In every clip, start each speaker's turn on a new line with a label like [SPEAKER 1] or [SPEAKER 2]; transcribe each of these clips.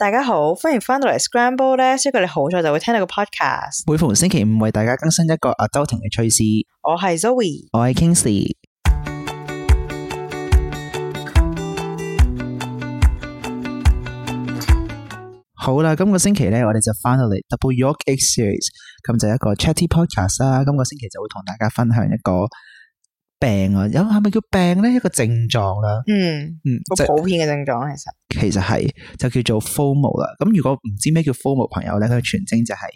[SPEAKER 1] 大家好，歡迎翻到嚟 Scramble 咧，所以你好彩就會聽到個 podcast。
[SPEAKER 2] 每逢星期五為大家更新一個 adulting 嘅趣事。
[SPEAKER 1] 我係 Zoe，
[SPEAKER 2] 我係 Kingsley。好啦，今個星期咧，我哋就翻到嚟 Double York Egg Series， 咁就一個 chatty podcast 啦。今個星期就會同大家分享一個病啊，有係咪叫病咧？一個症狀啦，
[SPEAKER 1] 好普遍嘅症狀
[SPEAKER 2] 其實係就叫做 FOMO 啦。咁如果唔知咩叫 FOMO 朋友咧，佢全稱就係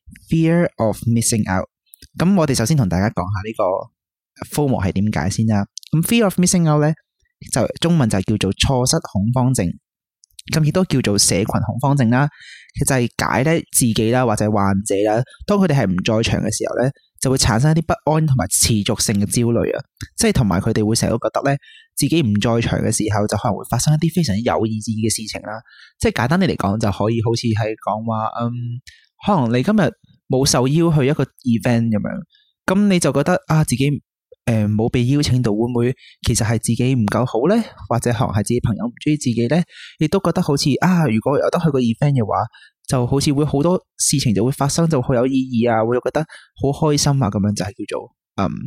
[SPEAKER 2] Fear of Missing Out。咁我哋首先同大家講下呢個 FOMO 係點解先啦。咁 Fear of Missing Out 咧，就中文就叫做錯失恐慌症。咁亦都叫做社群恐慌症啦，其實係解咧自己啦或者患者啦，當佢哋係唔在場嘅時候咧，就會產生一啲不安同埋持續性嘅焦慮啊，即係同埋佢哋會成日都覺得咧自己唔在場嘅時候，就可能會發生一啲非常之有意義嘅事情啦。即係簡單啲嚟講，就可以好似係講話，可能你今日冇受邀去一個 event 咁樣，咁你就覺得啊自己冇被邀請到，會唔會其實係自己唔夠好咧？或者可能係自己朋友唔中意自己咧？亦都覺得好似如果有得去個 event 嘅話，就好似會好多事情就會發生，就好有意義啊，會覺得好開心啊，咁樣就係叫做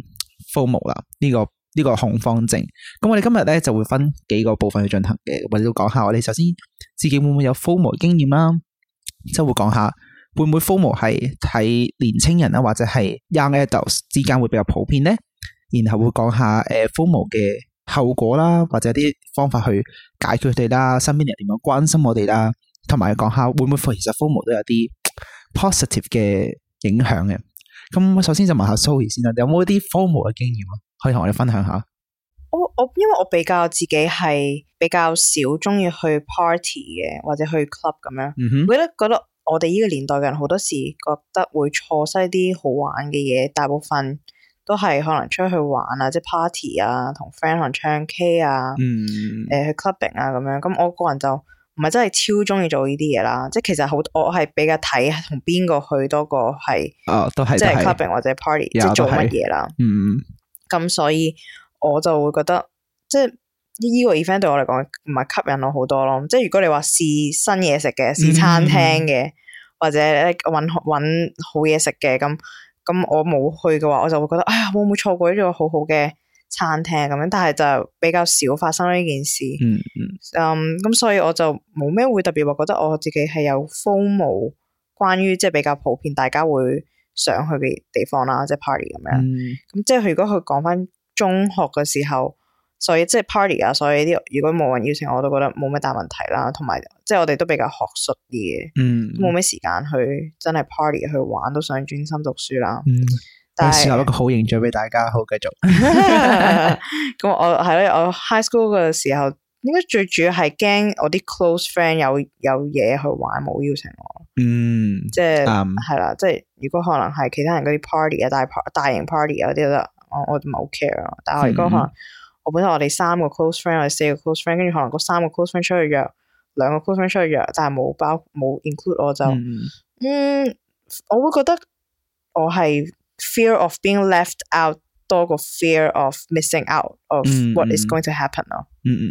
[SPEAKER 2] FOMO 啦。呢個恐慌症。咁我哋今日咧就會分幾個部分去進行嘅，或者講下我哋首先自己會唔會有 FOMO 經驗啦，即係會講下會唔會 FOMO 係喺年青人啊或者係 young adults 之間會比較普遍咧？然後會講下FOMO 嘅後果啦，或者啲方法去解決佢哋啦，身邊人點樣關心我哋啦，同埋講下會唔會其實 FOMO 都有啲 positive 嘅影響嘅。咁首先就問下 Zoe 先啦，有冇啲 FOMO 嘅經驗啊？可以同我哋分享下。
[SPEAKER 1] 因為我比較自己係比較少中意去 party 嘅，或者去 club 咁樣。我覺得我哋呢個年代嘅人好多時覺得會錯失啲好玩嘅嘢，大部分都係可能出去玩啊，即係 party 啊，同 friend 可能唱 K 啊，去 clubbing 啊咁樣。咁我個人就唔係真係超中意做呢啲嘢啦。即係其實我係比較睇同邊個去多過係，
[SPEAKER 2] 都係
[SPEAKER 1] 即係 clubbing 或者 party，即係做乜嘢啦。咁所以我就會覺得，即係呢個 event 對我嚟講唔係吸引我好多咯。即係如果你話試新嘢食嘅，試餐廳嘅，或者搵好嘢食嘅咁我冇去嘅話，我就會覺得會唔會錯過呢個好好嘅餐廳咁樣，但係就比較少發生呢件事。咁所以我就冇咩會特別話覺得我自己係有 FOMO 關於即係比較普遍大家會想去嘅地方啦，即係 party 咁樣。咁即係如果佢講翻中學嘅時候，所以即係 party 啊，所以啲如果冇人邀請我都覺得冇咩大問題啦。同埋即係我哋都比較學術啲嘅，冇咩時間去真係 party 去玩，都想專心讀書啦。
[SPEAKER 2] 但係設立一個好形象俾大家，好繼續。
[SPEAKER 1] 咁我係咯，我 high school 嘅時候，應該最主要係驚我啲 close friend 有嘢去玩，冇邀請我。即係係啦，即係如果可能係其他人嗰啲 party 啊，大型 party 啊嗰啲，我唔係好 care 咯。但係如果可能我本身我哋3個 close friend， 我哋4個 close friend， 跟住可能嗰3個 close friend 出去約2個 close friend 出去約，但係冇 include 我就我會覺得我係 fear of being left out 多過 fear of missing out of what is going to happen 咯。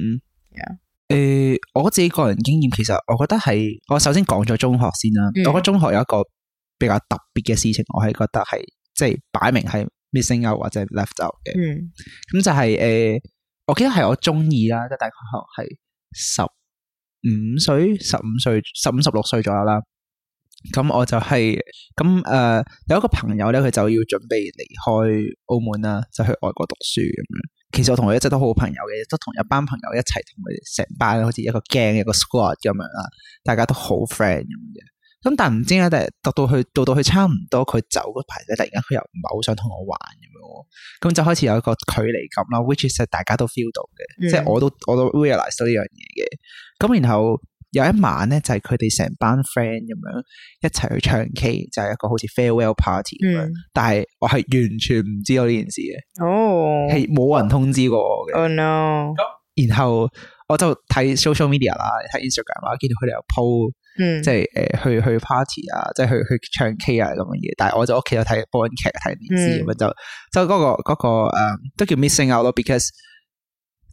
[SPEAKER 2] 我自己個人經驗，其實我覺得係我首先講咗中學先啦。我覺得中學有一個比較特別嘅事情，我係覺得係即係擺明係 missing out 或者 left out 嘅。咁就係我記得係我中二啦，即係大概係15歲、16歲左右啦。咁我就係有一個朋友咧，佢就要準備離開澳門啦，就去外國讀書咁樣。其實我同佢一直都好朋友嘅，都同一班朋友一齊同佢哋成班好似一個 gang 一個 squad 咁樣啦，大家都好 friend 咁嘅。咁但係唔知點解，到到去差唔多佢走嗰排咧，突然間佢又唔係好想同我玩咁樣，咁就開始有一個距離感啦。which is 大家都 feel 到嘅，即係我都 realize 到呢樣嘢嘅。咁然後有一晚咧，就係佢哋成班 friend 咁樣一齊去唱 K， 就係一個好似 farewell party 咁樣。但係我係完全唔知道呢件事嘅，係冇人通知過我嘅。
[SPEAKER 1] Oh no！
[SPEAKER 2] 然後我就睇 social media 啦，睇 Instagram 啦，見到佢哋有 po，即係去 party 啊，即係去唱 K 啊咁嘅嘢。但係我就屋企有睇播緊劇睇電視咁樣，就嗰個都叫 missing out 咯，because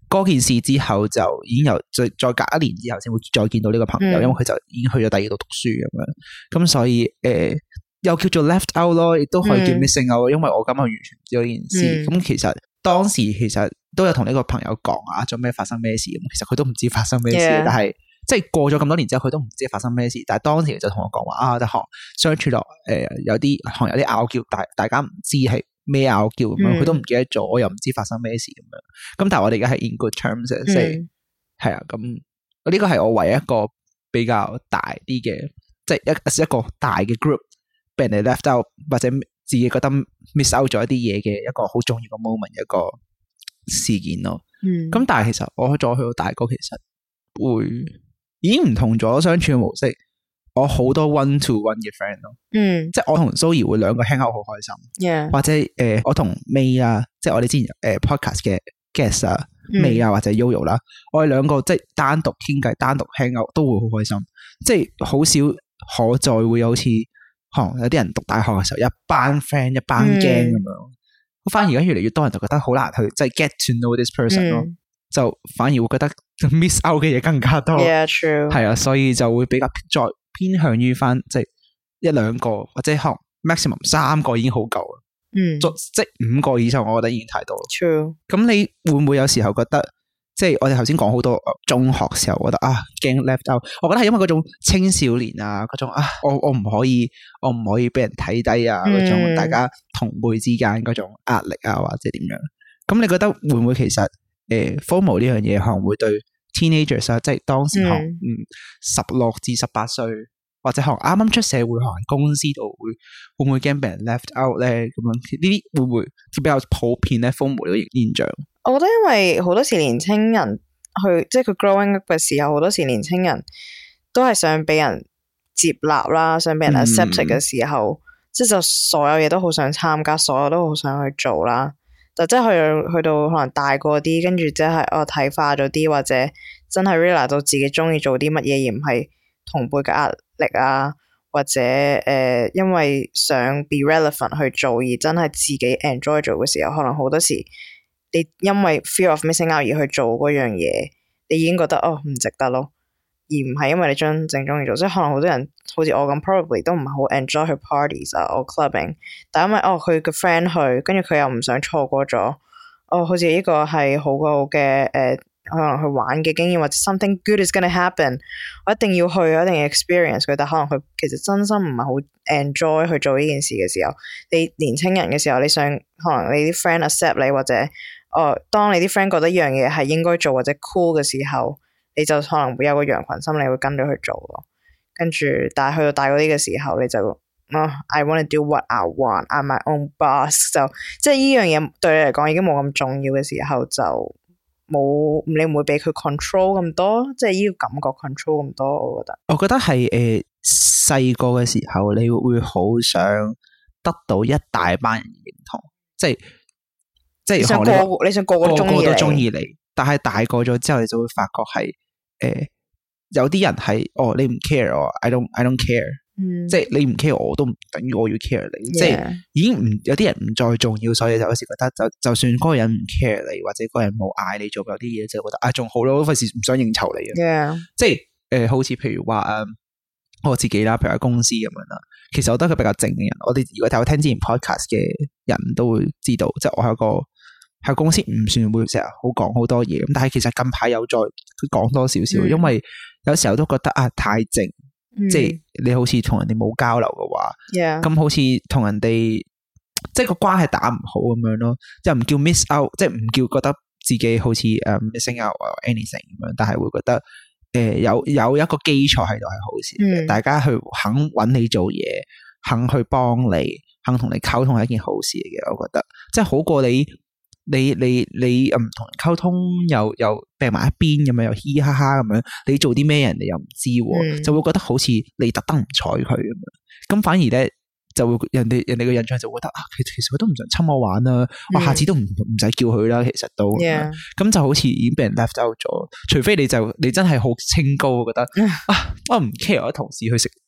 [SPEAKER 2] 嗰件事之後就已經有再隔一年之後先會再見到呢個朋友，因為佢就已經去咗第二度讀書咁樣，咁所以又叫做 left out 咯，亦都可以叫 missing out，因為我根本完全唔知道呢件事。咁其實當時其實都有同呢個朋友講啊，做咩發生咩事咁，其實佢都唔知發生咩事，但係即係過咗咁多年之後，佢都唔知發生咩事。但係當時就同我講話啊，學相處落有啲拗撬，大家唔知係咩拗撬咁樣，佢都唔記得咗，我又唔知發生咩事咁樣。咁但係我哋而家係 in good terms，即係係啊。咁呢個係我唯一一個比較大啲嘅，即係一個大嘅 group 俾人哋 left out 或者自己覺得 miss out 咗一啲嘢嘅一個好重要嘅 moment， 一個事件咯。咁但係其實我再去到大個，其實會已經唔同咗相處嘅模式。我好多 one to one 嘅 friend 咯，即係我同 Zoe 會兩個 hang out 好開心，或者我同 May 啊，即係我哋之前podcast 嘅 guest 啊，May 啊或者 Yoyo 啦，我哋兩個即係單獨傾偈、單獨 hang out 都會好開心，即係好少可再會好似有啲人讀大學嘅時候一班 friend 一班 gang 咁樣，反而而家越嚟越多人就覺得好難去即係 get to know this person 咯，就反而會覺得 miss out 嘅嘢更加多，係啊，所以就會比較再偏向於翻即係一兩個或者可能 maximum 3個已經好夠啦，即係5個以上我覺得已經太多啦。
[SPEAKER 1] True。咁
[SPEAKER 2] 你會唔會有時候覺得即係我哋頭先講好多中學時候覺得驚 left out， 我覺得係因為嗰種青少年啊嗰種我唔可以俾人睇低啊嗰種大家同輩之間嗰種壓力啊或者點樣，咁你覺得會唔會其實FOMO 呢樣嘢可能會對 teenagers 啊，即係當時可能16至18歲或者可能啱啱出社會可能公司度會唔會驚俾人 left out 咧？咁樣呢啲會唔會比較普遍咧 FOMO 呢個現象？
[SPEAKER 1] 我覺得因為好多時年青人即係佢 growing up 嘅時候，好多時年青人都係想俾人接納啦，想俾人 accept 嘅時候，即係就所有嘢都好想參加，所有都好想去做啦。就即係去到可能大個啲，跟住即係睇化咗啲，或者真係 realize 到自己中意做啲乜嘢，而唔係同輩嘅壓力啊，或者因為想 be relevant 去做，而真係自己 enjoy 做嘅時候，可能好多時你因為 fear of missing out 而去做嗰樣嘢，你已經覺得唔值得咯，而唔係因為你真正中意做。即係可能好多人好似我咁 probably 都唔係好 enjoy 去 parties 啊，或 clubbing， 但因為佢個 friend 去，跟住佢又唔想錯過咗，好似呢個係好嘅可能去玩嘅經驗，或者 something good is gonna happen， 我一定要去，我一定要 experience 佢。但可能佢其實真心唔係好 enjoy 去做呢件事嘅時候，你年青人嘅時候，你想可能你啲 friend accept 你，或者當你啲 friend 覺得一樣嘢係應該做或者 cool 嘅時候，你就可能會有個羊群心理會跟咗去做咯。跟住但係去到大嗰啲嘅時候，你就I want to do what I want, I'm my own boss， 就即係呢樣嘢對你嚟講已經冇咁重要嘅時候，就你唔會俾佢 control 咁多，即係呢個感覺 control 咁多。我覺得係細個嘅時候你會好想得到一大班人認同，即係你想個個都中意你，但係大個咗之後你就會發覺係有啲人係你唔 care 我 I don't care，即係你唔 care 我都唔等於我要 care 你，即係已經有啲人唔再重要，所以就有時覺得就算嗰個人唔 care 你，或者嗰個人冇嗌你做有啲嘢，就覺得仲好咯，費事唔想應酬你嘅。即係好似譬如話我自己啦，譬如喺公司咁樣啦，其實我都係個比較靜嘅人。我哋如果有聽之前 podcast 嘅人都會知道，即係我係一個喺公司唔算會成日好講好多嘢，咁但係其實近排有再講多少少，因為有時候都覺得太靜，即係你好似同人哋冇交流嘅話，咁好似同人哋即係個關係打唔好咁樣咯，即係唔叫 miss out， 即係唔叫覺得自己好似missing out or anything 咁樣，但係會覺得有一個基礎喺度係好事，大家去肯揾你做嘢，肯去幫你，肯同你溝通係一件好事嚟嘅，我覺得即係好過你唔同人溝通又病埋一邊咁樣，又嘻嘻哈哈咁樣，你做啲咩人哋又唔知，就會覺得好似你特登唔睬佢咁樣，咁反而咧就會人哋嘅印象就會覺得其實佢都唔想侵我玩啦，我下次都唔使叫佢啦，其實都咁就好似已經俾人 left out 咗，除非你真係好清高，覺得我唔 care 我同事去食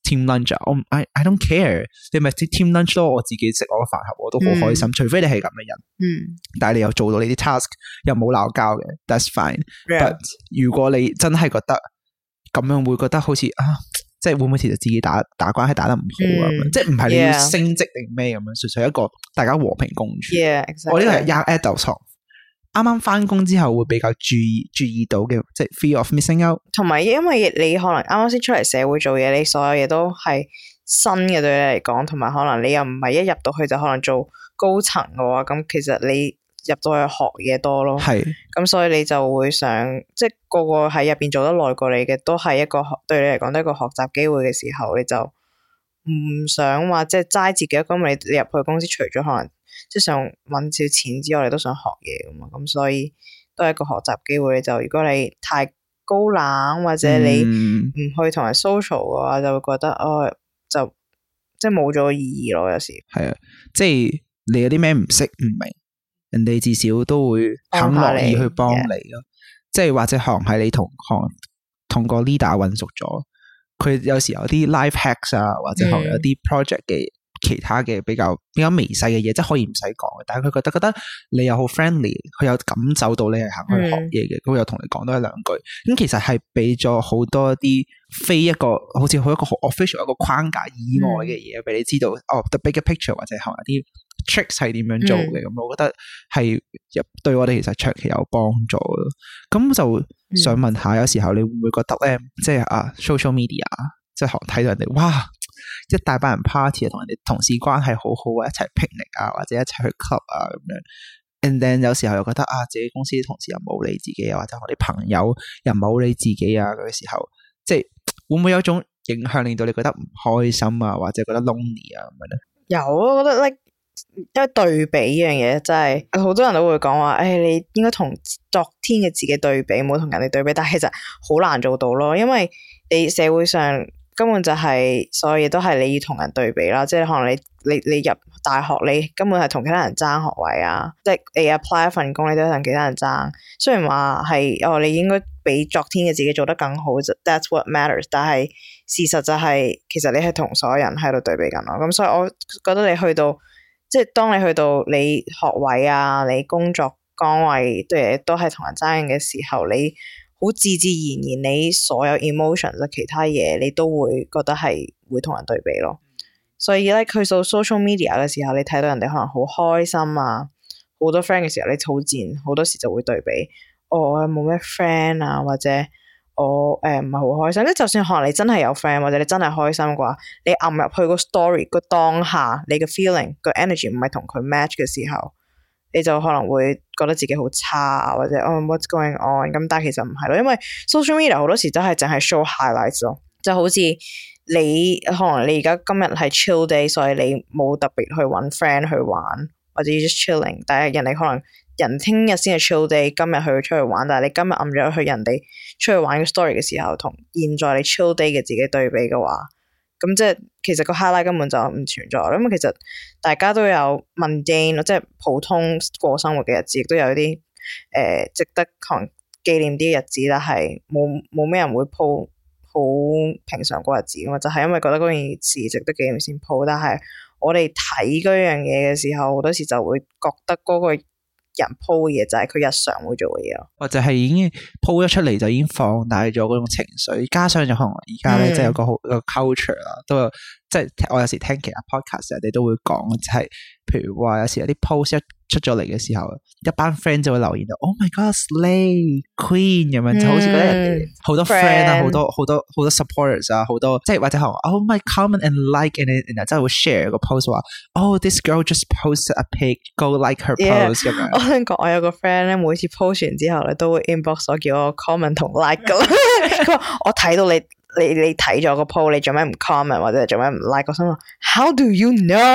[SPEAKER 2] team lunch 啊，I don't care， 你咪 team lunch 咯，我自己食我個飯盒我都好開心，除非你係咁嘅人，但係你又做到你啲 task 又冇鬧交嘅 ，that's fine。But 如果你真係覺得咁樣會覺得好似即係會唔會其實自己打關係打得唔好啊？即係唔係你要升職定咩咁樣，純粹一個大家和平共處。
[SPEAKER 1] exactly.
[SPEAKER 2] 我呢個係 young adult 啱啱翻工之後會比較注意到嘅，即係 fear of missing out。
[SPEAKER 1] 同埋因為你可能啱啱先出嚟社會做嘢，你所有嘢都係新嘅對你嚟講，同埋可能你又唔係一入到去就可能做高層嘅話，咁其實你入到去學嘢多咯。係。咁所以你就會想，即係個個喺入邊做得耐過你嘅，都係一個對你嚟講都係一個學習機會嘅時候，你就唔想話即係齋自己一個，你入去公司除咗可能即係想搵少錢之外，你都想學嘢噶嘛，咁所以都係一個學習機會。你就如果你太高冷或者你唔去同人 social 嘅話，就會覺得就即係冇咗意義咯。有時
[SPEAKER 2] 係啊，即係你有啲咩唔識唔明，人哋至少都會肯樂意去幫你咯。即係或者可能係你同個 leader 混熟咗，佢有時有啲 life hacks 啊，或者可能有啲 project 嘅其他嘅比較微細嘅嘢，即係可以唔使講嘅，但係佢覺得你又好 friendly， 佢有感受到你係肯去學嘢嘅，佢又同你講多一兩句，咁其實係俾咗好多啲非一個好似好一個好 official 一個框架以外嘅嘢俾你知道the bigger picture 或者可能啲 tricks 係點樣做嘅，咁我覺得係對我哋其實長期有幫助咯。咁就想問下，有時候你會唔會覺得咧，即係social media 即係睇到人哋哇一大班人 party 啊，同人哋同事關係好好啊，一齊 picnic 啊，或者一齊去 club 啊咁樣 and then 有時候又覺得自己公司啲同事又冇理自己啊，或者我啲朋友又冇理自己啊嗰個時候，即係會唔會有種影響令到你覺得唔開心啊，或者覺得 lonely 啊咁樣咧？
[SPEAKER 1] 有啊，我覺得因為對比呢樣嘢真係好多人都會講話，你應該同昨天嘅自己對比，唔好同人哋對比，但係其實好難做到咯，因為你社會上根本就係所有嘢都係你要同人對比啦，即係可能你入大學你根本係同其他人爭學位啊，即係你 apply 一份工你都同其他人爭，雖然話係你應該比昨天嘅自己做得更好 ，that's what matters， 但係事實就係其實你係同所有人喺度對比緊咯，咁所以我覺得你去到即係當你去到你學位啊，你工作崗位都係同人爭嘅時候，你好自然你所有 emotions 其他嘢你都會覺得係會同人對比咯。所以咧，去到 social media 嘅時候，你睇到人哋可能好開心啊，好多 friend 嘅時候，你好自然好多時就會對比，我冇咩 friend 啊，或者我唔係好開心。即就算可能你真係有 friend 或者你真係開心嘅話，你撳入去個 story 個當下，你嘅 feeling 個 energy 唔係同佢 match 嘅時候，你就可能會覺得自己好差或者what's going on 咁，但係其實唔係咯，因為 social media 好多時都係淨係 show highlights 咯，就好似你可能你而家今日係 chill day， 所以你冇特別去揾 friend 去玩或者 just chilling， 但係人哋可能人聽日先係 chill day， 今日去出去玩，但係你今日撳咗去人哋出去玩嘅 story 嘅時候，同現在你 chill day 嘅自己對比嘅話，咁即係其實個 highlight 根本就唔存在，因為其實大家都有 mundane 即係普通過生活嘅日子，亦都有啲值得紀念啲嘅日子，但係冇咩人會 po 好平常過日子噶嘛，就係因為覺得嗰件事值得紀念先 po，但係我哋睇嗰樣嘢嘅時候，好多時就會覺得嗰個人 po 嘅嘢就係佢日常會做嘅嘢咯，或
[SPEAKER 2] 者係已經 po 咗出嚟就已經放大咗嗰種情緒，加上就可能而家咧即係有個好一個 culture 啦，都有即係我有時聽其他 podcast 人哋都會講，就係譬如話有時有啲 post 一出咗嚟嘅時候，一班 friend 就會留言到 Oh my God Slay Queen 咁樣，就好似覺得人哋好多 friend 啊，好多 supporters 啊，好多即係或者可能 Oh my comment and like and 然後真係會 share 個 post 話 Oh this girl just posted a pic go like her post 咁樣。
[SPEAKER 1] 我聽講我有個 friend 咧，每次 post 完之後咧都會 inbox 我叫我 comment 同 like 噶，佢話我睇到你睇咗個 post， 你做咩唔 comment 或者做咩唔 like？ 我心諗 How do you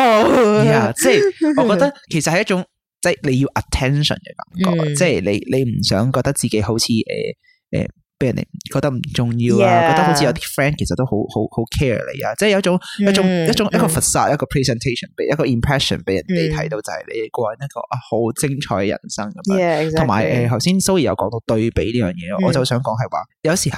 [SPEAKER 1] know？
[SPEAKER 2] 即係我覺得其實係一種即係你要 attention 嘅感覺，即係你唔想覺得自己好似俾人哋覺得唔重要啊，覺得好似有啲 friend 其實都好 care 你啊，即係有一種一個 facade 一個 presentation 俾一個 impression 俾人哋睇到，就係你個人一個好精彩嘅人生咁樣。同埋頭先 Zoe 有講到對比呢樣嘢，我就想講係話有時候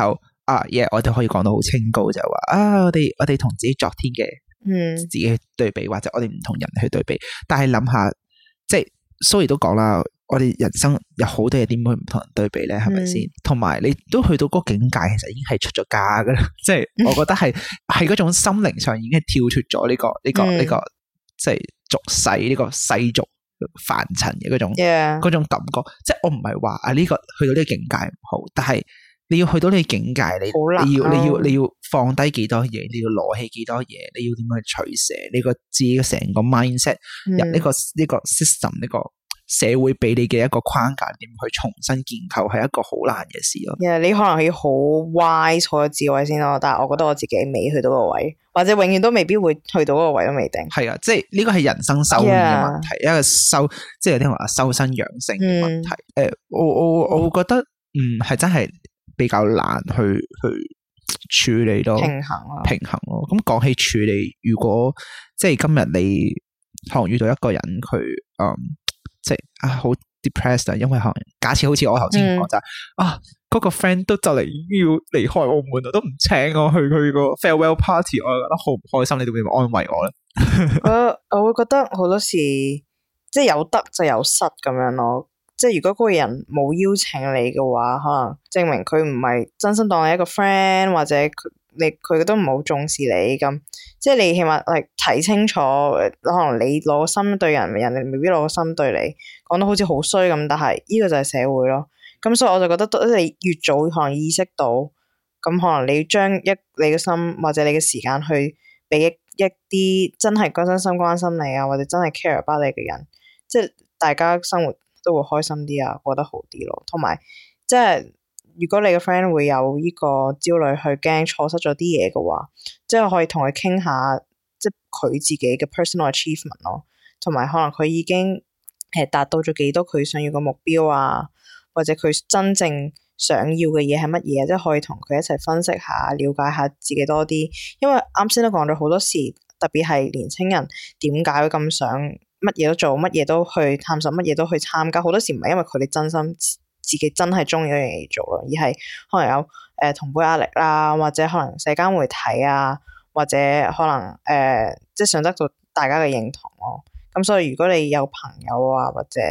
[SPEAKER 2] 我哋可以講到好清高，就話我哋同自己昨天嘅自己去對比，或者我哋唔同人去對比。但係諗下，即係 Zoe 都講啦，我哋人生有好多嘢點會唔同人對比咧？係咪先？同埋你都去到嗰個境界，其實已經係出咗家噶啦。即係我覺得係嗰種心靈上已經係跳脫咗呢個即係俗世呢個世俗凡塵嘅嗰種感覺。即係我唔係話呢個去到呢個境界唔好，但係你要去到呢個境界，你要放低幾多嘢，你要攞起幾多嘢，你要點樣去取捨？你個自己嘅成個 mindset 入呢個 system 呢個社會俾你嘅一個框架，點去重新建構，係一個好難嘅事咯。
[SPEAKER 1] 你可能要好 wise 好有智慧先咯，但係我覺得我自己未去到嗰個位，或者永遠都未必會去到嗰個位都未定。係
[SPEAKER 2] 啊，即係呢個係人生修養嘅問題，一個即係有啲人話修身養性嘅問題。我會覺得係真係比較難去處理咯，平衡咯。咁講起處理，如果即係今日你可能遇到一個人，佢即係好 depressed 啊，因為可能假設好似我頭先講就嗰個 friend 都就嚟要離開澳門啦，都唔請我去佢個 farewell party， 我覺得好唔開心。你哋會唔會安慰我咧？
[SPEAKER 1] 我會覺得好多時即係有得就有失咁樣咯。即係如果嗰個人冇邀請你嘅話，可能證明佢唔係真心當你一個 friend， 或者佢都唔好重視你咁。即係你起碼睇清楚，可能你攞個心對人，人哋未必攞個心對你。講得好似好衰咁，但係呢個就係社會咯。咁所以我就覺得，你越早可能意識到，咁可能你要將你嘅心或者你嘅時間去俾一啲真係真心關心你啊，或者真係 care about 你嘅人，即係大家生活都會開心啲啊，過得好啲咯。同埋即係如果你嘅 friend 會有呢個焦慮，去驚錯失咗啲嘢嘅話，即係可以同佢傾下，即係佢自己嘅 personal achievement 咯，同埋可能佢已經達到咗幾多佢想要嘅目標啊，或者佢真正想要嘅嘢係乜嘢，即係可以同佢一齊分析下，了解下自己多啲。因為啱先都講咗好多時，特別係年青人點解會咁想乜嘢都做，乜嘢都去探索，乜嘢都去參加。好多時唔係因為佢哋真心自己真係中意一樣嘢做咯，而係可能有同輩壓力啦，或者可能社交媒體啊，或者可能即係想得到大家嘅認同咯。咁所以如果你有朋友啊，或者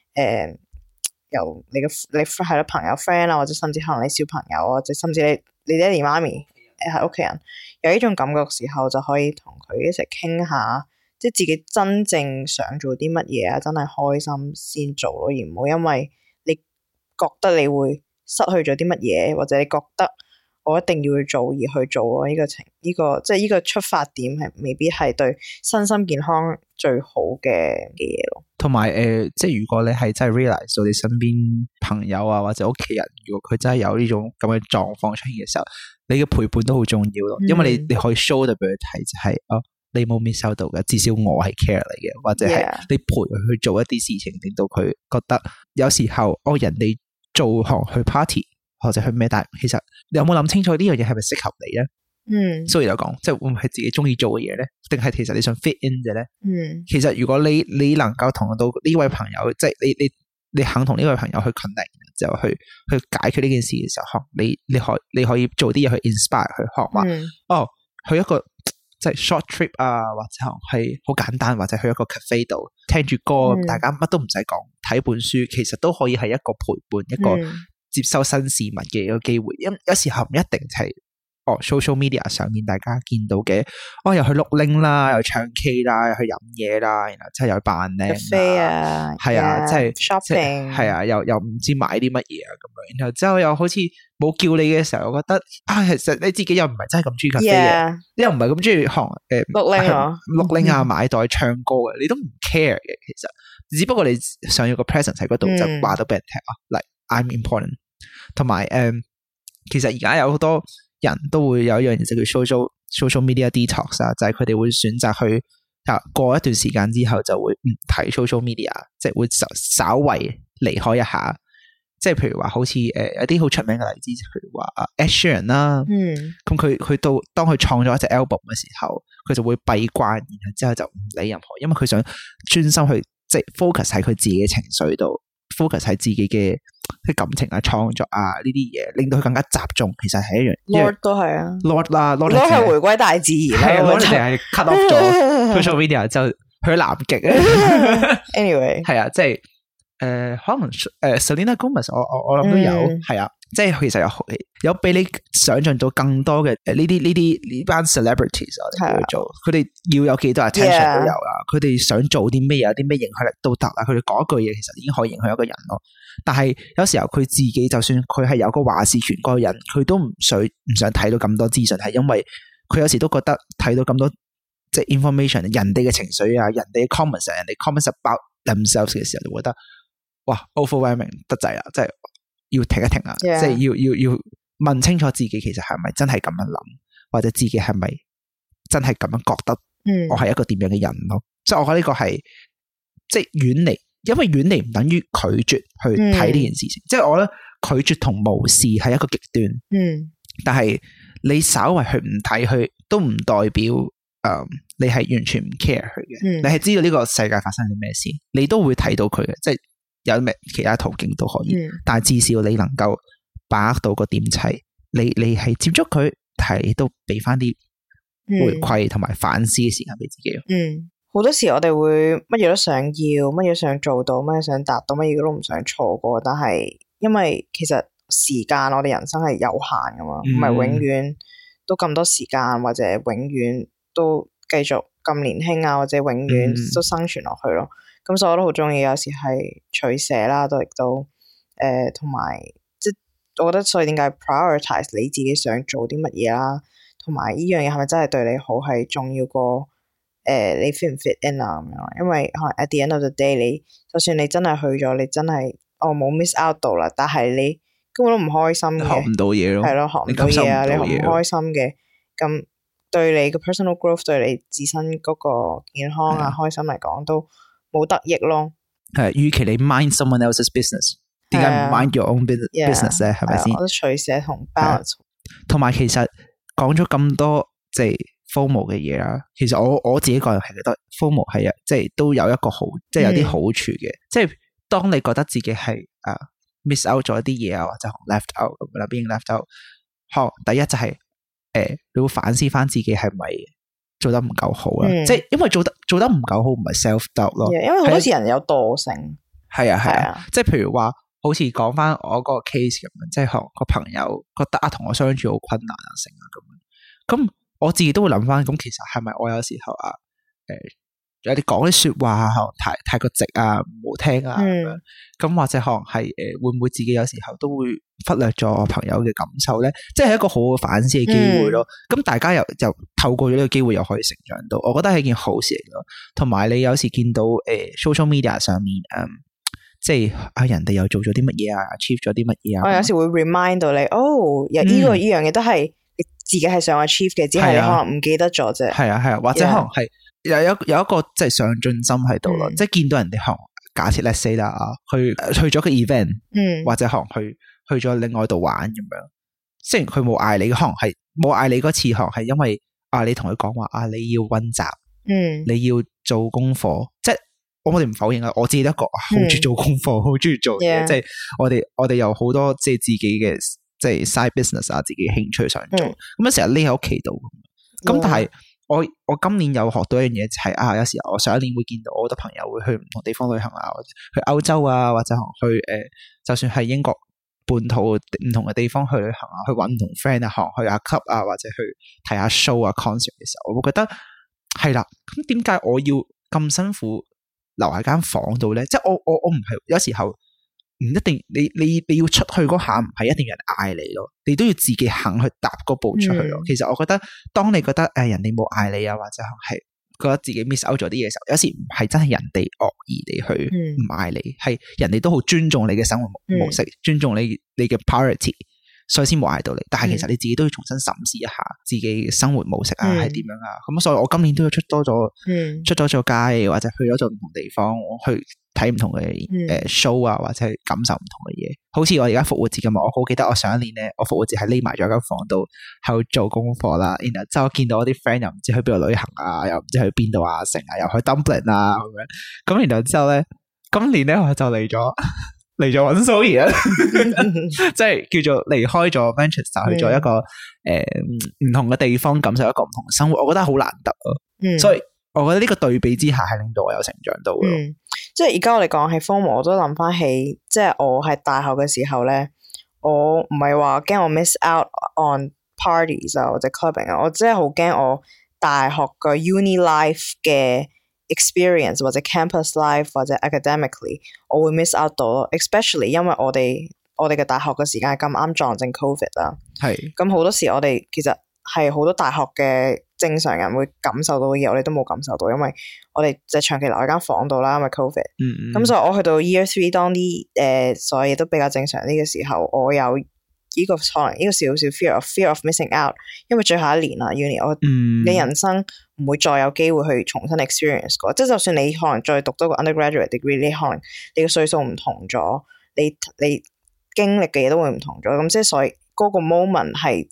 [SPEAKER 1] 由你係咯朋友 friend 啊，或者甚至可能你小朋友啊，或者甚至你爹哋媽咪係屋企人有呢種感覺嘅時候，就可以同佢一齊傾下，即係自己真正想做啲乜嘢啊，真係開心先做咯，而唔好因為你覺得你會失去咗啲乜嘢，或者你覺得我一定要去做而去做咯。呢個即係呢個出發點係未必係對身心健康最好嘅嘢咯。
[SPEAKER 2] 同埋即係如果你係真係 realize 到你身邊朋友啊或者屋企人，如果佢真係有呢種咁嘅狀況出現嘅時候，你嘅陪伴都好重要咯。因為你可以 show 到俾佢睇，就係你冇 miss 到嘅，至少我係 care 你嘅，或者係你陪佢去做一啲事情，令到佢覺得有時候人哋做去 party 或者去咩，但係其實你有冇諗清楚呢樣嘢係咪適合你咧？所以就講，即係會唔會係自己中意做嘅嘢咧？定係其實你想 fit in 嘅咧？其實如果你能夠同到呢位朋友，即係你肯同呢位朋友去 connect， 就去解決呢件事嘅時候，你可以做啲嘢去 inspire 去學話去一個即係 short trip 啊，或者係好簡單，或者去一個 cafe 度聽住歌，大家乜都唔使講，睇本書，其實都可以係一個陪伴，一個接收新事物嘅一個機會。有時候唔一定係social media 上面大家見到嘅，又去碌鈴啦，又唱 K 啦，又去飲嘢啦，然後即係又去扮靚啊，係啊，即係
[SPEAKER 1] shopping，
[SPEAKER 2] 係啊，又唔知買啲乜嘢啊咁樣，然後之後又好似冇叫你嘅時候，我覺得其實你自己又唔係真係咁中意咖啡嘅，你又唔係咁中意碌鈴啊，買袋唱歌嘅，你都唔 care 嘅。其實只不過你想要個 presence 喺嗰度，就話到俾人聽like I'm important。同埋其實而家有好多人都會有一樣嘢就叫 social media detox 啊，就係佢哋會選擇去過一段時間之後就會唔睇 social media， 即係會稍為離開一下。即係譬如話好似有啲好出名嘅例子，譬如話Ed Sheeran 啦，咁佢當佢創咗一隻 album 嘅時候，佢就會閉關，然後之後就唔理任何，因為佢想專心去即係 focus 喺佢自己嘅情緒度，focus 喺自己嘅即係感情啊、創作啊呢啲嘢，令到佢更加集中。其實係一樣
[SPEAKER 1] Lord 都係啊
[SPEAKER 2] ，Lord 啦，Lord
[SPEAKER 1] 係回歸大自然，
[SPEAKER 2] 係 Lord 淨係 cut off 咗 social media 就去咗南極啊。
[SPEAKER 1] Anyway
[SPEAKER 2] 係啊，即係可能Selena Gomez 我諗都有係啊。即係其實有比你想象到更多嘅呢班 celebrities 我哋叫做佢哋要有幾多 attention 都有啦，佢哋想做啲咩有啲咩影響力都得啦，佢哋講一句嘢其實已經可以影響一個人咯。但係有時候佢自己就算佢係有個話事權嗰個人，佢都唔想睇到咁多資訊，係因為佢有時都覺得睇到咁多即係 information 人哋嘅情緒啊，人哋嘅 comments 人哋 comments about themselves 嘅時候就覺得哇 overwhelming 得滯啦，即係要停一停啊！ 即係要問清楚自己其實係咪真係咁樣諗，或者自己係咪真係咁樣覺得？我係一個點樣嘅人咯？所以我覺得呢個係即係遠離，因為遠離唔等於拒絕去睇呢件事情。即係我覺得拒絕同無視係一個極端。但係你稍為去唔睇佢，都唔代表你係完全唔 care 佢嘅。你係知道呢個世界發生啲咩事，你都會睇到佢嘅。即係。有咩其他途徑都可以，但係至少你能夠把握到個點齊，你係接觸佢，睇都俾翻啲回饋同埋反思嘅時間俾自己。
[SPEAKER 1] 好多時我哋會乜嘢都想要，乜嘢想做到，乜嘢想達到，乜嘢都唔想錯過。但係因為其實時間我哋人生係有限噶嘛，唔係永遠都咁多時間，或者永遠都繼續咁年輕啊，或者永遠都生存落去咯。咁所以我都好中意，有時係取捨啦，都亦都同埋即係我覺得，所以點解 prioritize 你自己想做啲乜嘢啦，同埋呢樣嘢係咪真係對你好，係重要過你 fit 唔 fit in 啊咁樣。因為可能 at the end of the day， 你就算你真係去咗，你真係冇 miss out 到啦，但係你根本都唔開心嘅，
[SPEAKER 2] 學唔到嘢咯，
[SPEAKER 1] 係咯，學唔到嘢啊，你學唔開心嘅，咁對你嘅 personal growth， 對你自身嗰個健康啊、開心嚟講都冇得益咯。
[SPEAKER 2] 係，與其你 mind someone else's business， 點解唔 mind your own business 咧？係咪先？
[SPEAKER 1] 我覺得取捨同 balance。
[SPEAKER 2] 同埋其實講咗咁多即係 FOMO 嘅嘢啦，其實我自己個人係覺得 FOMO 係即係都有一個好，即係有啲好處嘅。即係當你覺得自己係miss out 咗一啲嘢啊，或者 left out 咁啦，being left out。第一就係你會反思翻自己係咪做得唔夠好啦，即係因為做得唔夠好唔係 self doubt 咯，
[SPEAKER 1] 因為好多時人有惰性，
[SPEAKER 2] 係啊，即係譬如話好似講翻我嗰個 case 咁樣，即係個朋友覺得同我相處好困難啊，成啊咁樣，咁我自己都會諗翻，咁其實係咪我有時候有啲講啲說話太過直啊，唔好聽啊咁樣，咁或者可能係會唔會自己有時候都會忽略咗我朋友嘅感受咧？即係一個好好反思嘅機會咯。咁大家又透過咗呢個機會又可以成長到，我覺得係一件好事嚟咯。同埋你有時見到social media 上面即係人哋又做咗啲乜嘢啊 ，achieve 咗啲乜嘢啊，
[SPEAKER 1] 我有時會 remind 到你，呢樣嘢都係你自己係想 achieve 嘅，只係你可能唔記得咗啫。
[SPEAKER 2] 係啊，或者可能係。有一個即係上進心喺度咯，即係見到人哋可能假設 let's say 啦去咗個 event，或者可能去咗另外度玩咁樣，雖然佢冇嗌你，可能係冇嗌你嗰次，可能係因為你同佢講話你要溫習，你要做功課，即係我哋唔否認啊，我自己一個好中意做功課，好中意做嘢，即係我哋有好多即係自己嘅即係 side business 啊，自己興趣想做，咁樣成日匿喺屋企度，咁但係。我今年有學到一樣嘢，就係有時候我上一年會見到我好多朋友會去唔同地方旅行啊，或者去歐洲啊，或者去就算係英國本土唔同嘅地方去旅行啊，去搵唔同 friend 啊，去下 club 啊，或者去睇下 show 啊 concert 嘅時候，我會覺得係啦。咁點解我要咁辛苦留喺間房度咧？即係我唔係有時候。唔一定，你要出去嗰下唔係一定有人嗌你咯，你都要自己肯去踏嗰步出去咯。其實我覺得，當你覺得人哋冇嗌你啊，或者係覺得自己 miss out 咗啲嘢嘅時候，有時唔係真係人哋惡意地去唔嗌你，係人哋都好尊重你嘅生活模式，尊重你嘅 priority， 所以先冇嗌到你。但係其實你自己都要重新審視一下自己嘅生活模式啊，係點樣啊？咁所以我今年都要出多咗街，或者去咗唔同地方去。睇唔同嘅show 啊，或者係感受唔同嘅嘢，好似我而家復活節咁啊！我好記得我上一年咧，我復活節係匿埋咗間房度喺度做功課啦。然後之後見到我啲 friend 又唔知去邊度旅行啊，又唔知去邊度啊，成啊，又去 Dublin 啊咁樣。咁然後之後咧，今年咧我就嚟咗嚟咗揾 Zoe 啊，即係叫做離開咗 Manchester 去咗一個唔同嘅地方，感受一個唔同嘅生活，我覺得好難得啊。所以我覺得呢個對比之下係令到我有成長到嘅。
[SPEAKER 1] 即係而家我哋講起 FOMO， 我都諗翻起，即係我喺大學嘅時候咧，我唔係話驚我 miss out on parties 啊或者 clubbing 啊，我真係好驚我大學嘅 uni life 嘅 experience 或者 campus life 或者 academically 我會 miss out 到咯 ，especially 因為我哋嘅大學嘅時間係咁啱撞正 covid 啦，係咁好多時我哋其實係好多大學嘅正常人會感受到嘅嘢，我哋都冇感受到，因為我哋就長期留喺間房度啦，因為 covid，咁所以我去到 year 3當啲所有嘢都比較正常啲嘅時候，我有呢個可能呢個少少 fear of missing out， 因為最後一年啦 uni， 你人生唔會再有機會去重新 experience 過，即係就算你可能再讀多個 undergraduate degree， 你可能你嘅歲數唔同咗，你經歷嘅嘢都會唔同咗，咁即係所以嗰個 moment 係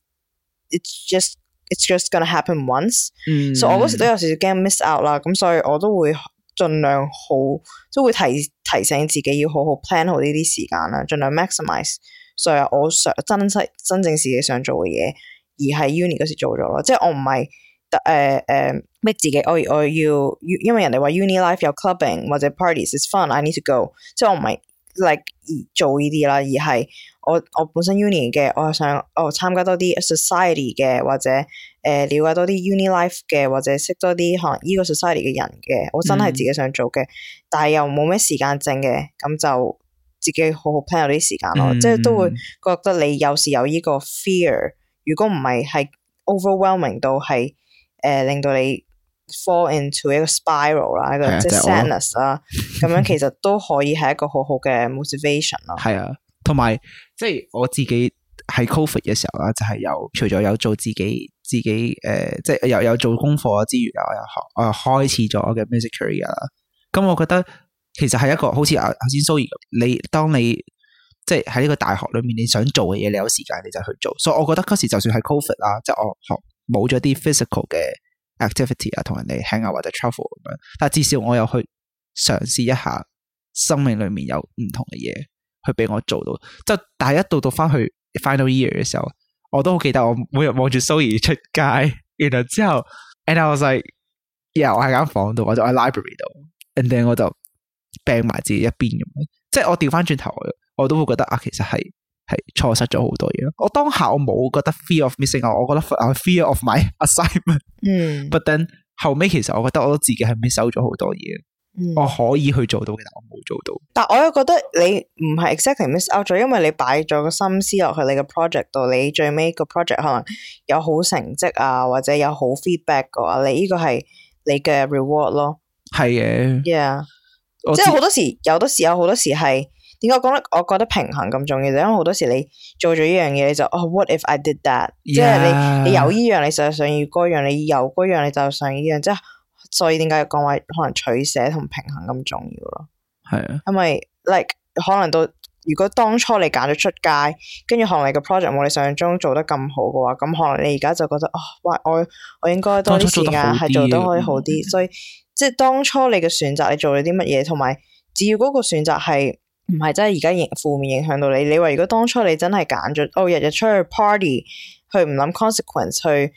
[SPEAKER 1] it's just gonna happen once，所以我嗰時都有少少驚 miss out 啦，咁所以我都會盡量都會提醒自己要好好 plan 好呢啲時間啦，盡量 maximize。所以我想真正自己想做嘅嘢，而喺 uni 嗰時做咗咯，即係我唔係逼自己，我要因為人哋話 uni life 有 clubbing 或者 parties is fun，I need to go， 即係我唔係 like 做呢啲啦，而係我本身 uni 嘅，我係想參加多啲 society 嘅，或者了解多啲 uni life 嘅，或者識多啲可能呢個 society 嘅人嘅，我真係自己想做嘅，但係又冇咩時間剩嘅，咁就自己好好 plan 有啲時間咯，即係都會覺得你有時有呢個 fear， 如果唔係 overwhelming 到係令到你 fall into 一個 spiral 啦，一個即係 sadness 啦，咁樣其實都可以係一個好好嘅 motivation 咯。係啊，
[SPEAKER 2] 同埋即係我自己喺 COVID 嘅時候啦，就係除咗有做自己即係有做功課之餘啊，我又開始咗我嘅 music career 啦。咁我覺得其實係一個好似頭先 Zoe 咁，當你即係喺呢個大學裏面你想做嘅嘢，你有時間你就去做。所以我覺得嗰時就算係 COVID 啦，即係我冇咗啲 physical 嘅 activity 啊，同人哋 hang out 或者 travel 咁樣，但係至少我有去嘗試一下生命裏面有唔同嘅嘢去俾我做到。即係但係一到翻去 final year 嘅時候，我都好記得我每日望住 Zoe 出街，然後之後 and I was like yeah， 我喺間房度或者我喺 library 度 and then 我就病埋自己一邊咁樣，即係我調翻轉頭，我都會覺得啊，其實係錯失咗好多嘢。我當下我冇覺得 fear of missing out， 我覺得 fear of my assignment。But then 後尾其實我覺得我都自己係 miss out咗好多嘢，我可以去做到嘅，但我冇做到。
[SPEAKER 1] 但我又覺得你唔係 exactly miss out 咗，因為你擺咗個心思落去你嘅 project 度，你最尾個 project 可能有好成績啊，或者有好 feedback 嘅話，你呢個係你嘅 reward 咯。
[SPEAKER 2] 係嘅
[SPEAKER 1] ，yeah。即係好多時，有好多時係點解講咧？我覺得平衡咁重要，就因為好多時你做咗呢樣嘢，你就what if I did that？ 即係你有呢樣，你就想要嗰樣；你有嗰樣，你就想呢樣。即係所以點解講話可能取捨同平衡咁重要咯？
[SPEAKER 2] 係啊，
[SPEAKER 1] 因為 like 可能到如果當初你揀咗出街，跟住可能你個 project 冇你想象中做得咁好嘅話，咁可能你而家就覺得我應該多啲時間係做得可以好啲，所以。即係當初你嘅選擇，你做咗啲乜嘢，同埋只要嗰個選擇係唔係真係而家負面影響到你。你話如果當初你真係揀咗，日日出去 party， 去唔諗 consequence， 去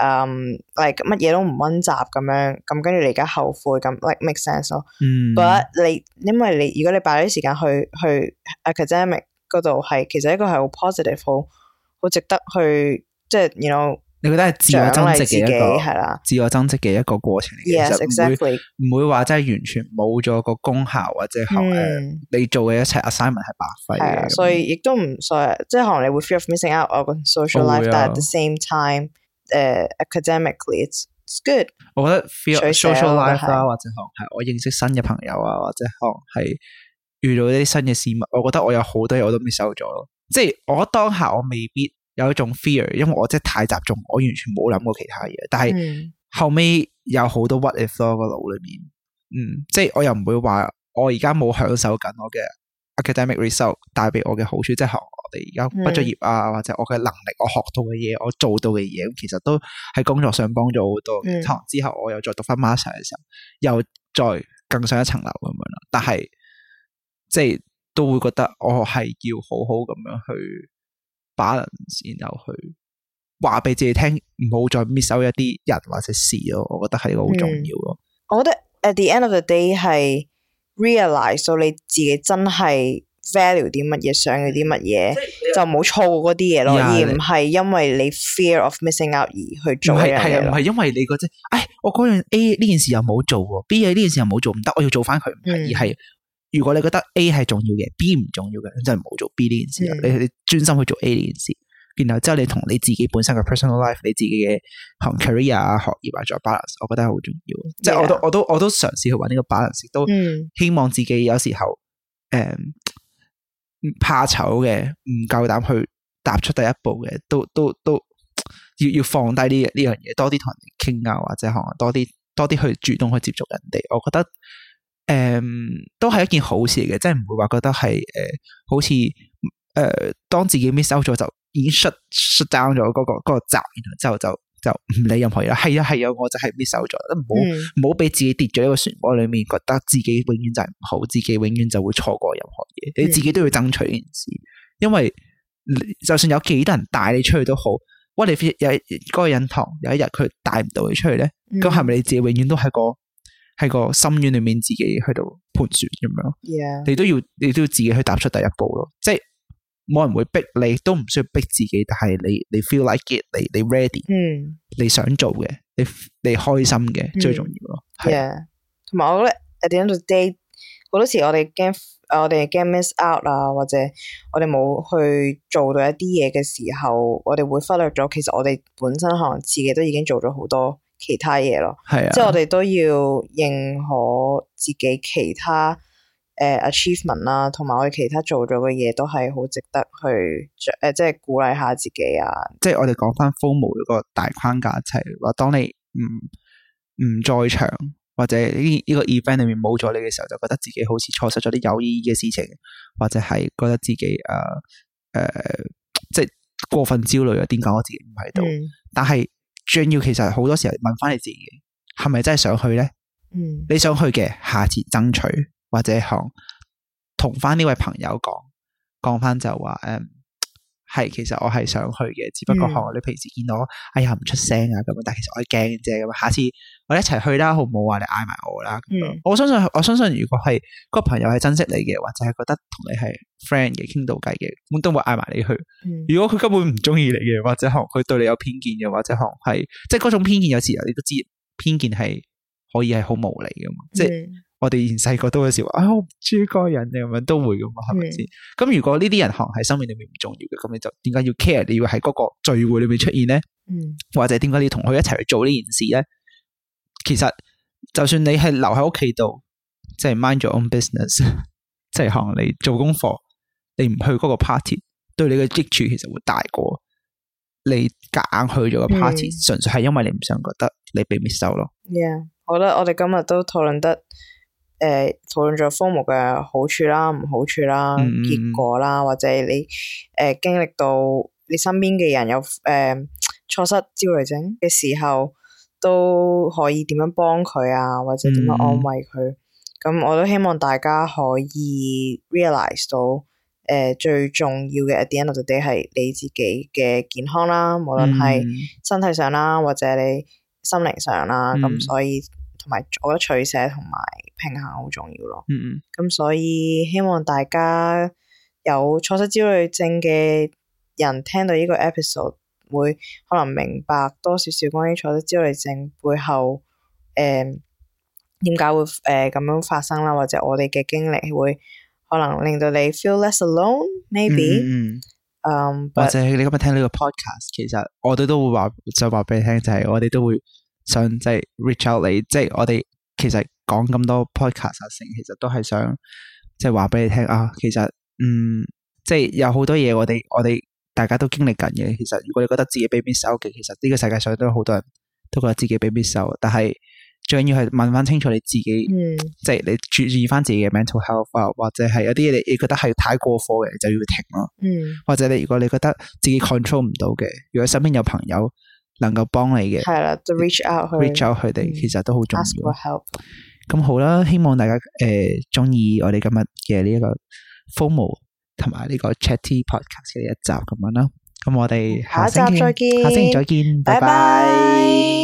[SPEAKER 1] like 乜嘢都唔溫習咁樣，咁跟住你而家後悔咁 like make sense 咯。But 因為你如果你擺啲時間去 academic 嗰度，係其實一個係好 positive， 好值得去即係 you know。
[SPEAKER 2] 你覺得係自我增值嘅一個
[SPEAKER 1] 係啦，
[SPEAKER 2] 自我增值嘅一個過程嚟嘅。
[SPEAKER 1] Yes, exactly。
[SPEAKER 2] 唔會話真係完全冇咗個功效或者你做嘅一切 assignment 係白費嘅。
[SPEAKER 1] 所以亦都唔所以，即係可能你會 fear of missing out on social life，但 at the same time， academically it's good。
[SPEAKER 2] 我覺得 fear social life 啦，或者可能係我認識新嘅朋友啊，或者可能係遇到一啲新嘅事物，我覺得我有好多嘢我都 miss out 咗咯。即係我當下我未必。有一種 fear， 因為我真係太集中，我完全冇諗過其他嘢。但係後尾有好多 what if 咯，個腦裏面，即係我又唔會話我而家冇享受緊我嘅 academic result 帶俾我嘅好處，即係我哋而家畢咗業啊，或者我嘅能力，我學到嘅嘢，我做到嘅嘢，其實都喺工作上幫咗好多。可能之後我又再讀翻 master 嘅時候，又再更上一層樓咁樣啦。但係即係都會覺得我係要好好咁樣去 balance， 然後去話俾自己聽，唔好再 miss out 一啲人或者事咯。我覺得係一個好重要咯。
[SPEAKER 1] 我覺得 at the end of the day 係 realize 到你自己真係 value 啲乜嘢，想要啲乜嘢，就冇錯過嗰啲嘢咯，而唔係因為你 fear of missing out 而去做嘅嘢。係啊，
[SPEAKER 2] 唔係因為你覺得，我嗰樣 A 呢件事又冇做喎 ，B 呢件事又冇做，唔得，我要做翻佢。而係如果你覺得 A 係重要嘅 ，B 唔重要嘅，你真係唔好做 B 呢件事。你專心去做 A 呢件事，然後之後你同你自己本身嘅 personal life， 你自己嘅 career 啊、學業啊再 balance， 我覺得係好重要。即係我都嘗試去揾呢個 balance， 都希望自己有時候怕醜嘅，唔夠膽去踏出第一步嘅，都要放低呢樣嘢，多啲同人哋傾啊，或者可能多啲去主動去接觸人哋。我覺得都係一件好事嚟嘅，即係唔會話覺得係好似當自己 miss out 咗就已經 shut down 咗嗰個閘，然後之後就唔理任何嘢啦。係啊，我就係 miss out 咗，唔好俾自己跌咗一個漩渦裏面，覺得自己永遠就係唔好，自己永遠就會錯過任何嘢。你自己都要爭取呢件事，因為就算有幾多人帶你出去都好，喂，你有嗰個人堂有一日佢帶唔到你出去咧，咁係咪你自己永遠都喺個深淵裏面自己去到盤旋咁樣？
[SPEAKER 1] Yeah.
[SPEAKER 2] 你都要自己去踏出第一步咯，即係冇人會逼你，都唔需要逼自己，但係你 feel like it， 你 ready， 你想做嘅，你開心嘅，最重要咯。
[SPEAKER 1] 係，同埋我覺得 at the end of the day， 好多時我哋驚 miss out 啊，或者我哋冇去做到一啲嘢嘅時候，我哋會忽略咗，其實我哋本身可能自己都已經做咗好多其他嘢咯。係啊，即係我哋都要認可自己其他achievement 啦，同埋我哋其他做咗嘅嘢都係好值得去即係鼓勵下自己啊。即係
[SPEAKER 2] 我哋講翻 FOMO 嗰個大框架，就係話當你唔在場或者呢個 event 裏面冇咗你嘅時候，就覺得自己好似錯失咗啲有意義嘅事情，或者係覺得自己即係過分焦慮啊，點解我自己唔喺度？但係最重要，其實好多時候問翻你自己，係咪真係想去咧？你想去嘅，下次爭取，或者同翻呢位朋友講翻就話係其實我係想去嘅，只不過你平時見到哎呀唔出聲啊咁，但係其實我係驚嘅啫。咁下次我哋一齊去啦，好唔好啊？你嗌埋我啦。我相信如果係個朋友係珍惜你嘅，或者係覺得同你係 friend 嘅，傾到偈嘅，咁都會嗌埋你去。如果佢根本唔中意你嘅，或者佢對你有偏見嘅，或者係即係嗰種偏見，有時候你都知偏見係可以係好無理噶嘛。即係我哋以前細個都有時話我唔中意嗰個人咁樣都會噶嘛，係咪先？咁如果呢啲人可能喺生命裏面唔重要嘅，咁你就點解要 care？ 你要喺嗰個聚會裏面出現咧？或者點解你要同佢一齊去做呢件事咧？其實就算你係留喺屋企度，即係 mind your own business， 即係可能你做功課，你唔去嗰個 party， 對你嘅益處其實會大過你夾硬去咗個 party，純粹係因為你唔想覺得你被 miss out 咯。
[SPEAKER 1] Yeah， 我覺得我哋今日都討論得。討論咗 FOMO 嘅好處啦、唔好處啦、結果啦，或者你經歷到你身邊嘅人有錯失焦慮症嘅時候，都可以點樣幫佢啊，或者點樣安慰佢。咁我都希望大家可以 realize 到最重要嘅 at the end of the day 係你自己嘅健康啦，無論係身體上啦，或者你心靈上啦。咁所以同埋我覺得取捨同埋平衡好重要咯。咁所以希望大家有錯失焦慮症嘅人聽到呢個 episode 會可能明白多少少關於錯失焦慮症背後點解會咁樣發生啦，或者我哋嘅經歷會可能令到你 feel less alone maybe。
[SPEAKER 2] 或者你今日聽呢個 podcast， 其實我哋都會話俾你聽，就係我哋都會想即係 reach out 你，即係我哋其實講咁多 podcast 其實都係想即係話俾你聽啊。其實即係有好多嘢我哋大家都經歷緊嘅。其實如果你覺得自己被 miss out 嘅，其實呢個世界上都有好多人都覺得自己被 miss out， 但係最緊要係問翻清楚你自己，即係你注意翻自己嘅 mental health 啊，或者係有啲嘢你覺得係太過火嘅，就要停咯。或者如果你覺得自己 control 唔到嘅，如果身邊有朋友能夠幫你嘅，
[SPEAKER 1] 係啦，就 reach out
[SPEAKER 2] 佢哋，其實都好重要。
[SPEAKER 1] ask for help。
[SPEAKER 2] 咁好啦，希望大家中意我哋今日嘅呢一個 FOMO 同埋呢個 Chatty Podcast 嘅一集咁樣啦。咁我哋下星期再見，拜拜。